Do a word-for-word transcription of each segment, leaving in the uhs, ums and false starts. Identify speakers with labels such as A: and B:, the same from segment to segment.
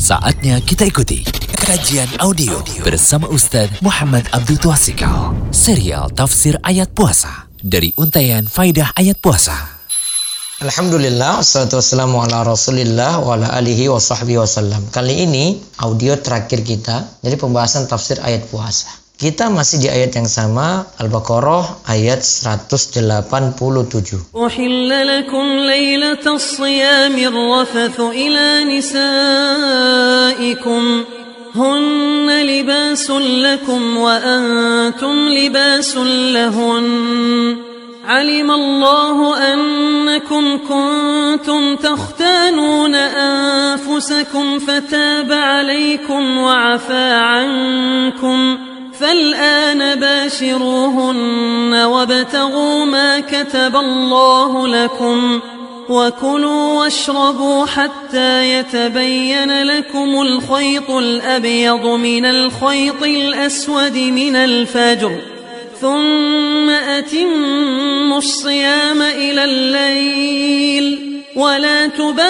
A: Saatnya kita ikuti kajian audio bersama Ustaz Muhammad Abdul Twasikal. Serial Tafsir Ayat Puasa dari Untaian Faidah Ayat Puasa.
B: Alhamdulillah, wassalatu wassalamu ala rasulillah wa ala alihi wa sahbihi wasallam. Kali ini audio terakhir kita dari pembahasan tafsir ayat puasa. Kita masih di ayat yang sama, Al-Baqarah ayat seratus delapan puluh tujuh.
C: Uhilla lakum laylatas siyamir rafathu ila nisaikum hunna libasun lakum wa antum libasun lahun. علم الله أنكم كنتم تختانون أنفسكم فتاب عليكم وعفى عنكم فالآن باشروهن وابتغوا ما كتب الله لكم وكلوا واشربوا حتى يتبين لكم الخيط الأبيض من الخيط الأسود من الفجر ثم أتموا الصيام إلى الليل ولا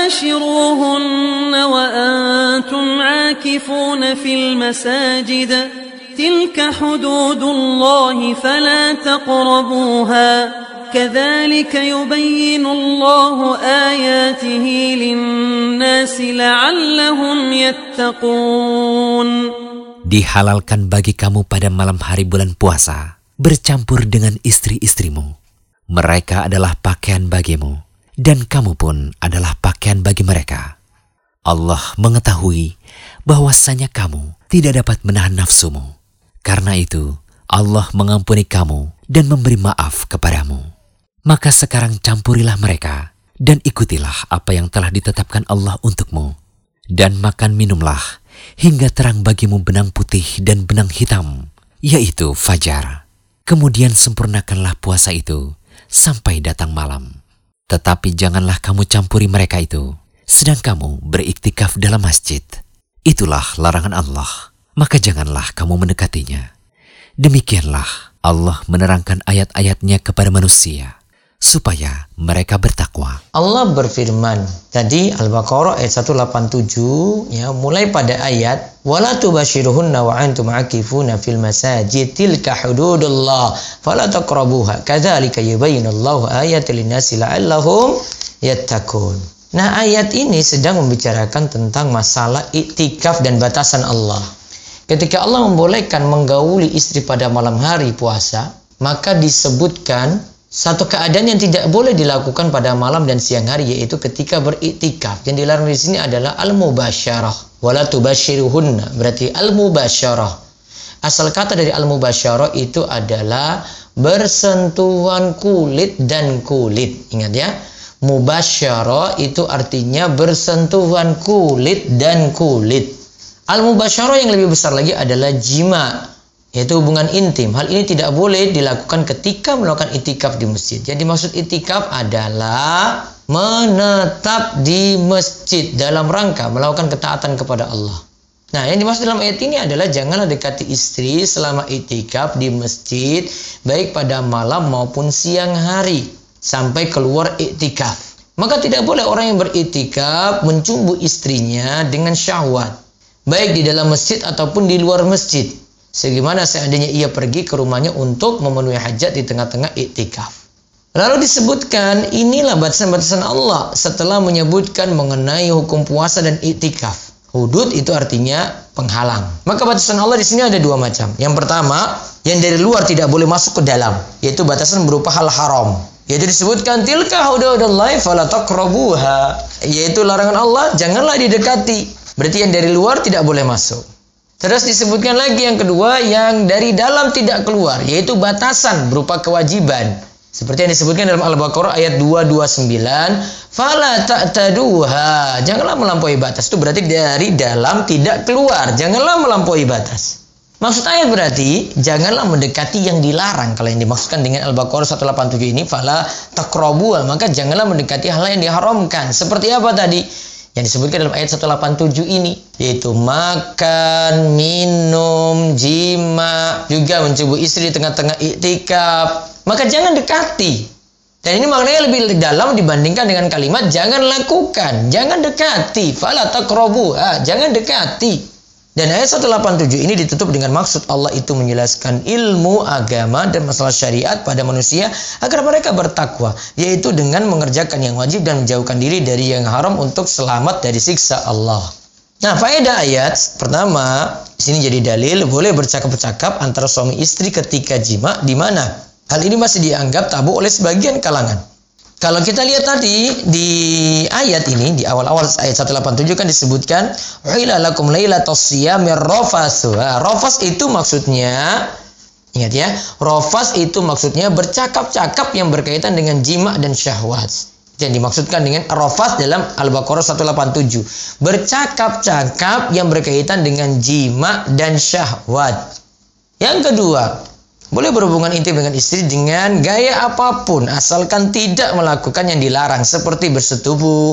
C: تباشروهن وأنتم عاكفون في المساجد تلك حدود الله فلا تقربوها كذلك يبين الله آياته للناس لعلهم يتقون.
A: Dihalalkan bagi kamu pada malam hari bulan puasa bercampur dengan istri-istrimu. Mereka adalah pakaian bagimu, dan kamu pun adalah pakaian bagi mereka. Allah mengetahui bahwasanya kamu tidak dapat menahan nafsumu. Karena itu, Allah mengampuni kamu dan memberi maaf kepadamu. Maka sekarang campurilah mereka, dan ikutilah apa yang telah ditetapkan Allah untukmu. Dan makan minumlah, hingga terang bagimu benang putih dan benang hitam, yaitu fajar. Kemudian sempurnakanlah puasa itu sampai datang malam. Tetapi janganlah kamu campuri mereka itu, sedang kamu beriktikaf dalam masjid. Itulah larangan Allah, maka janganlah kamu mendekatinya. Demikianlah Allah menerangkan ayat-ayatnya kepada manusia, supaya mereka bertakwa.
B: Allah berfirman tadi Al-Baqarah ayat seratus delapan puluh tujuh, ya, mulai pada ayat wala tubashiruhunna wa antum akifuna fil masajid tilka hududullah fala taqrabuha kadzalika yubayyinullahu ayati linnasi la'allahum yattaqun. Nah, ayat ini sedang membicarakan tentang masalah iktikaf dan batasan Allah. Ketika Allah membolehkan menggauli istri pada malam hari puasa, maka disebutkan satu keadaan yang tidak boleh dilakukan pada malam dan siang hari, yaitu ketika beriktikaf. Yang dilarang di sini adalah al-mubasyarah. Wala tubashiruhunna, berarti al-mubasyarah. Asal kata dari al-mubasyarah itu adalah bersentuhan kulit dan kulit. Ingat ya, mubasyarah itu artinya bersentuhan kulit dan kulit. Al-mubasyarah yang lebih besar lagi adalah jima, yaitu hubungan intim. Hal ini tidak boleh dilakukan ketika melakukan itikaf di masjid. Jadi maksud itikaf adalah menetap di masjid dalam rangka melakukan ketaatan kepada Allah. Nah, yang dimaksud dalam ayat ini adalah janganlah dekati istri selama itikaf di masjid, baik pada malam maupun siang hari, sampai keluar iktikaf. Maka tidak boleh orang yang beritikaf mencumbu istrinya dengan syahwat, baik di dalam masjid ataupun di luar masjid. Sebagaimana seandainya ia pergi ke rumahnya untuk memenuhi hajat di tengah-tengah iktikaf. Lalu disebutkan inilah batasan-batasan Allah setelah menyebutkan mengenai hukum puasa dan iktikaf. Hudud itu artinya penghalang. Maka batasan Allah di sini ada dua macam. Yang pertama, yang dari luar tidak boleh masuk ke dalam, yaitu batasan berupa hal haram. Yaitu disebutkan tilka hududullahi fala taqrabuha, yaitu larangan Allah, janganlah didekati. Berarti yang dari luar tidak boleh masuk. Terus disebutkan lagi yang kedua, yang dari dalam tidak keluar, yaitu batasan berupa kewajiban. Seperti yang disebutkan dalam Al-Baqarah ayat dua ratus dua puluh sembilan, fala ta'taduha, janganlah melampaui batas. Itu berarti dari dalam tidak keluar, janganlah melampaui batas. Maksud ayat berarti janganlah mendekati yang dilarang. Kalau yang dimaksudkan dengan Al-Baqarah seratus delapan puluh tujuh ini fala taqrabuha, maka janganlah mendekati hal yang diharamkan. Seperti apa tadi yang disebutkan dalam ayat seratus delapan puluh tujuh ini, yaitu makan, minum, jima, juga mencumbu istri di tengah-tengah iktikaf. Maka jangan dekati. Dan ini maknanya lebih dalam dibandingkan dengan kalimat jangan lakukan, jangan dekati, fala taqrabuha, jangan dekati. Dan ayat seratus delapan puluh tujuh ini ditutup dengan maksud Allah itu menjelaskan ilmu agama dan masalah syariat pada manusia agar mereka bertakwa, yaitu dengan mengerjakan yang wajib dan menjauhkan diri dari yang haram untuk selamat dari siksa Allah. Nah, faedah ayat pertama, di sini jadi dalil boleh bercakap-cakap antara suami istri ketika jima, di mana hal ini masih dianggap tabu oleh sebagian kalangan. Kalau kita lihat tadi di ayat ini, di awal-awal ayat seratus delapan puluh tujuh kan disebutkan uhilla lakum lailatus siyamir rafatsu. Rafas itu maksudnya, ingat ya, rafas itu maksudnya bercakap-cakap yang berkaitan dengan jima dan syahwat. Yang dimaksudkan dengan rafas dalam Al-Baqarah seratus delapan puluh tujuh, bercakap-cakap yang berkaitan dengan jima dan syahwat. Yang kedua, boleh berhubungan intim dengan istri dengan gaya apapun asalkan tidak melakukan yang dilarang seperti bersetubuh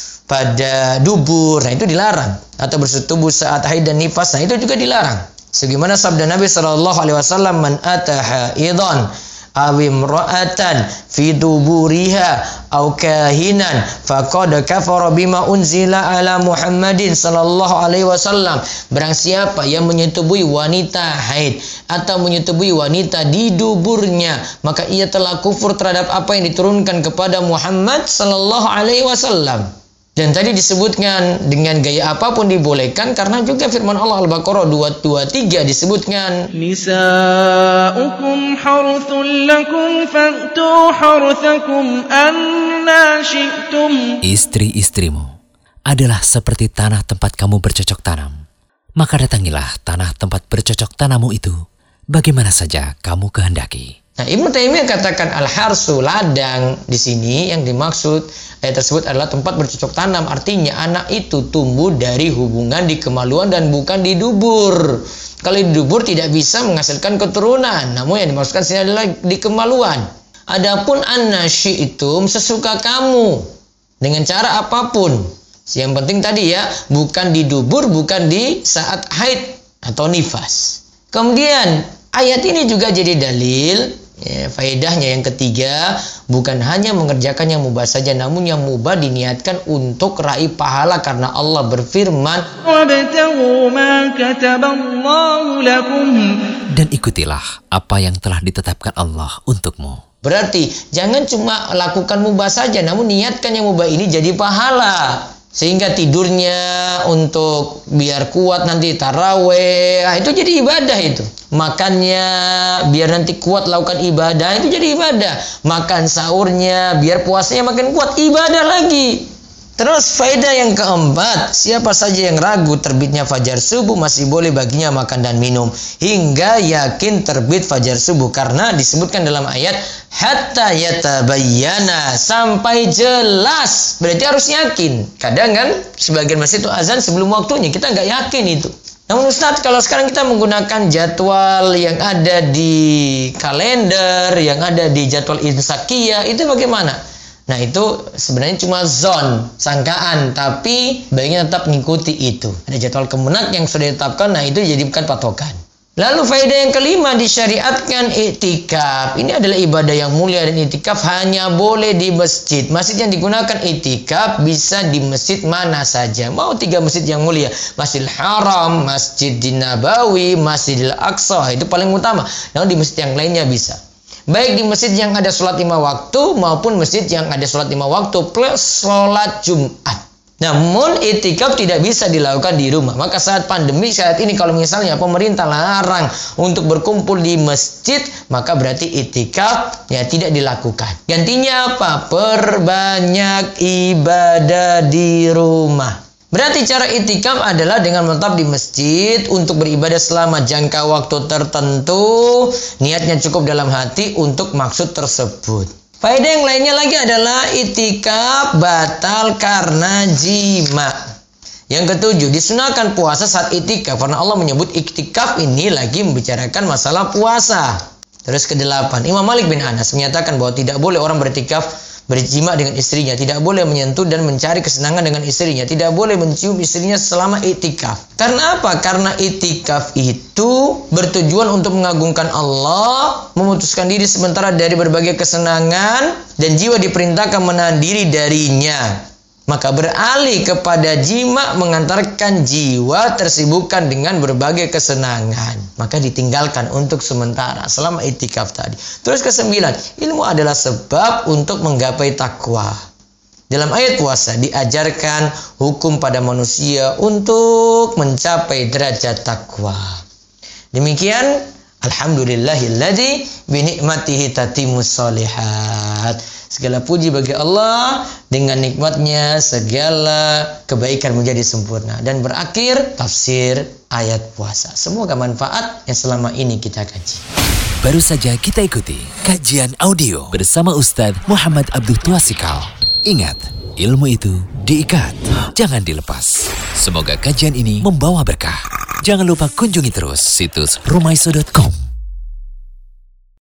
B: pada dubur, nah itu dilarang, atau bersetubuh saat haid dan nifas, nah itu juga dilarang. Sebagaimana sabda Nabi Shallallahu Alaihi Wasallam, man ataha idon awim ra'atan fi duburiha au kahinan faqad kafara bima unzila ala Muhammadin sallallahu alaihi wasallam. Barang siapa yang menyetubuhi wanita haid atau menyetubuhi wanita di duburnya, maka ia telah kufur terhadap apa yang diturunkan kepada Muhammad sallallahu alaihi wasallam. Dan tadi disebutkan dengan gaya apapun dibolehkan karena juga firman Allah Al-Baqarah dua dua tiga disebutkan
D: Nisa'ukum harthul lakum fa'tu harthakum anna syi'tum.
A: Istri-istrimu adalah seperti tanah tempat kamu bercocok tanam. Maka datangilah tanah tempat bercocok tanammu itu bagaimana saja kamu kehendaki.
B: Nah, Ibnu Taimiyah katakan al-harsu, ladang, di sini yang dimaksud ayat tersebut adalah tempat bercocok tanam. Artinya anak itu tumbuh dari hubungan di kemaluan dan bukan di dubur. Kalau di dubur tidak bisa menghasilkan keturunan, namun yang dimaksudkan sini adalah di kemaluan. Adapun an-nasyi itu sesuka kamu dengan cara apapun. Yang penting tadi ya, bukan di dubur, bukan di saat haid atau nifas. Kemudian ayat ini juga jadi dalil, ya, faedahnya yang ketiga, bukan hanya mengerjakan yang mubah saja, namun yang mubah diniatkan untuk raih pahala karena Allah berfirman,
A: dan ikutilah apa yang telah ditetapkan Allah untukmu.
B: Berarti jangan cuma lakukan mubah saja, namun niatkan yang mubah ini jadi pahala. Sehingga tidurnya untuk biar kuat nanti taraweh, nah, itu jadi ibadah itu. Makannya biar nanti kuat lakukan ibadah, itu jadi ibadah. Makan sahurnya biar puasanya makin kuat, ibadah lagi. Terus faedah yang keempat, siapa saja yang ragu terbitnya fajar subuh masih boleh baginya makan dan minum hingga yakin terbit fajar subuh, karena disebutkan dalam ayat hatta yatabayyana, sampai jelas. Berarti harus yakin. Kadang kan sebagian masjid itu azan sebelum waktunya, kita nggak yakin itu. Namun Ustadz, kalau sekarang kita menggunakan jadwal yang ada di kalender, yang ada di jadwal insakiyah, itu bagaimana? Nah, itu sebenarnya cuma zon, sangkaan, tapi baiknya tetap mengikuti itu. Ada jadwal kemenak yang sudah ditetapkan, nah itu dijadikan patokan. Lalu faedah yang kelima, disyariatkan iktikaf. Ini adalah ibadah yang mulia dan iktikaf hanya boleh di masjid. Masjid yang digunakan iktikaf bisa di masjid mana saja. Mau tiga masjid yang mulia, Masjidil Haram, Masjidin Nabawi, Masjidil Aqsa, itu paling utama. Namun di masjid yang lainnya bisa. Baik di masjid yang ada sholat lima waktu maupun masjid yang ada sholat lima waktu plus sholat Jumat. Namun iktikaf tidak bisa dilakukan di rumah. Maka saat pandemi saat ini kalau misalnya pemerintah larang untuk berkumpul di masjid, maka berarti iktikaf ya tidak dilakukan. Gantinya apa? Perbanyak ibadah di rumah. Berarti cara iktikaf adalah dengan menetap di masjid untuk beribadah selama jangka waktu tertentu. Niatnya cukup dalam hati untuk maksud tersebut. Faedah yang lainnya lagi adalah iktikaf batal karena jima. Yang ketujuh, disunahkan puasa saat iktikaf karena Allah menyebut iktikaf ini lagi membicarakan masalah puasa. Terus kedelapan, Imam Malik bin Anas menyatakan bahwa tidak boleh orang beriktikaf berjima dengan istrinya, tidak boleh menyentuh dan mencari kesenangan dengan istrinya, tidak boleh mencium istrinya selama iktikaf. Karena apa? Karena iktikaf itu bertujuan untuk mengagungkan Allah, memutuskan diri sementara dari berbagai kesenangan, dan jiwa diperintahkan menahan diri darinya. Maka beralih kepada jima mengantarkan jiwa tersibukkan dengan berbagai kesenangan. Maka ditinggalkan untuk sementara selama iktikaf tadi. Terus kesembilan, ilmu adalah sebab untuk menggapai takwa. Dalam ayat puasa diajarkan hukum pada manusia untuk mencapai derajat takwa. Demikian, alhamdulillahilladzi binikmatihi tatimmus sholihat. Segala puji bagi Allah, dengan nikmatnya segala kebaikan menjadi sempurna. Dan berakhir tafsir ayat puasa. Semoga manfaat yang selama ini kita kaji.
A: Baru saja kita ikuti kajian audio bersama Ustaz Muhammad Abdul Twasikal. Ingat, ilmu itu diikat, jangan dilepas. Semoga kajian ini membawa berkah. Jangan lupa kunjungi terus situs rumaiso dot com.